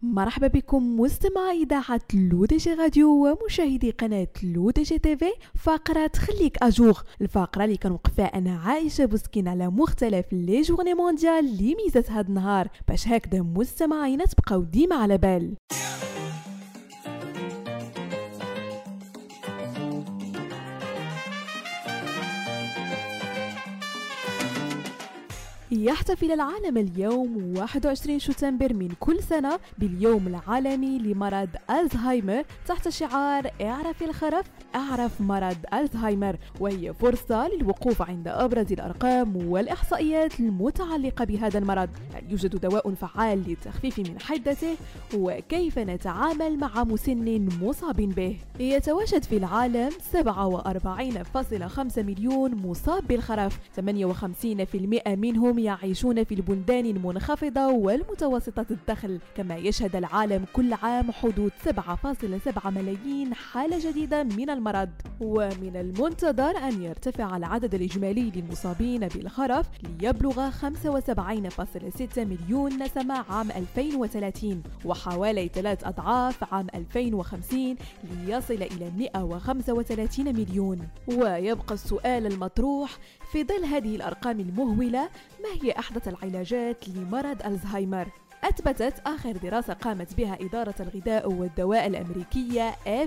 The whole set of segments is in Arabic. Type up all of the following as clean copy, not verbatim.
مرحبا بكم مستمعي إذاعة لو دي جي راديو ومشاهدي قناة لو دي جي تي في. فقرة خليك أجوغ، الفقرة اللي كنوقفها أنا عايشة بوسكين على مختلف لي جورني مونديال اللي ميزات هاد النهار، باش هكذا مستمعينا تبقاو ديما على بال. يحتفل العالم اليوم 21 شتنبر من كل سنة باليوم العالمي لمرض ألزهايمر تحت شعار اعرف الخرف اعرف مرض ألزهايمر، وهي فرصة للوقوف عند أبرز الأرقام والإحصائيات المتعلقة بهذا المرض. هل يوجد دواء فعال للتخفيف من حدته؟ وكيف نتعامل مع مسن مصاب به؟ يتواجد في العالم 47.5 مليون مصاب بالخرف، 58% منهم يعيشون في البلدان المنخفضة والمتوسطة الدخل، كما يشهد العالم كل عام حدوث 7.7 ملايين حالة جديدة من المرض. ومن المنتظر أن يرتفع العدد الإجمالي للمصابين بالخرف ليبلغ 75.6 مليون نسمة عام 2030، وحوالي 3 أضعاف عام 2050 ليصل إلى 135 مليون. ويبقى السؤال المطروح في ظل هذه الأرقام المهولة: ما هي أحدث العلاجات لمرض ألزهايمر؟ أثبتت آخر دراسة قامت بها إدارة الغذاء والدواء الأمريكية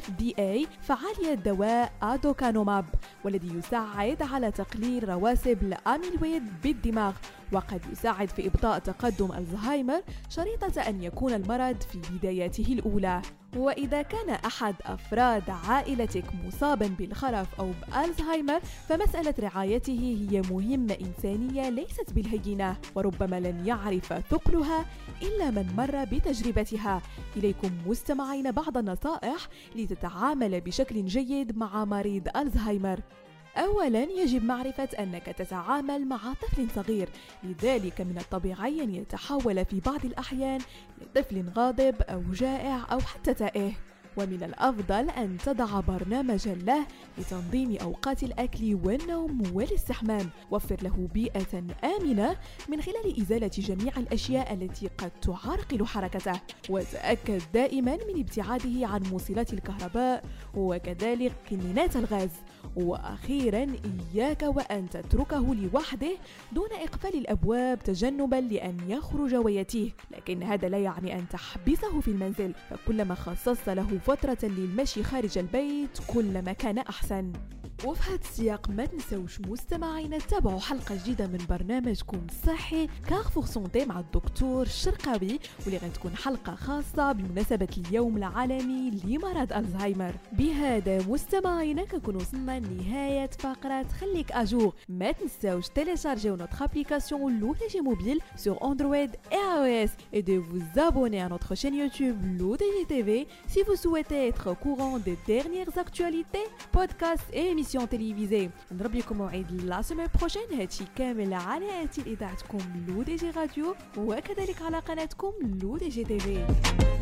FDA فعالية دواء أدوكانوماب، والذي يساعد على تقليل رواسب الأميلويد بالدماغ، وقد يساعد في إبطاء تقدم ألزهايمر شريطة أن يكون المرض في بداياته الأولى. وإذا كان أحد أفراد عائلتك مصابا بالخرف أو بألزهايمر فمسألة رعايته هي مهمة إنسانية ليست بالهينة، وربما لن يعرف ثقلها إلا من مر بتجربتها. إليكم مستمعين بعض النصائح لتتعامل بشكل جيد مع مريض ألزهايمر. أولاً، يجب معرفة أنك تتعامل مع طفل صغير، لذلك من الطبيعي أن يتحول في بعض الأحيان لطفل غاضب أو جائع أو حتى تائه، ومن الأفضل أن تضع برنامجاً له لتنظيم أوقات الأكل والنوم والاستحمام. وفر له بيئة آمنة من خلال إزالة جميع الأشياء التي قد تعرقل حركته، وتأكد دائماً من ابتعاده عن موصلات الكهرباء وكذلك كنينات الغاز. وأخيراً، إياك وأن تتركه لوحده دون إقفال الأبواب تجنباً لأن يخرج ويتيه، لكن هذا لا يعني أن تحبسه في المنزل، فكلما خصصت له فترة للمشي خارج البيت كلما كان أحسن. وفي هذا السياق ما تنسوش مستمعينا تتابعوا حلقة جديدة من برنامجكم الصحي كارفور سونتي مع الدكتور الشرقاوي، واللي غتكون حلقة خاصة بمناسبة اليوم العالمي لمرض ألزهايمر. بهذا مستمعينا كنكون وصلنا لنهاية فقرة خليك أجور. ما تنسوش télécharger notre application LoDG Mobile sur Android et iOS et de vous abonner à notre chaîne YouTube LoDG TV si vous souhaitez être au courant des dernières actualités, podcasts et émissions télévisées. نضرب لكم موعد لا سيمين بروشين، هادشي كامل على آتي إذاعتكم لو دي جي راديو وكذلك على قناتكم لو دي جي تي في.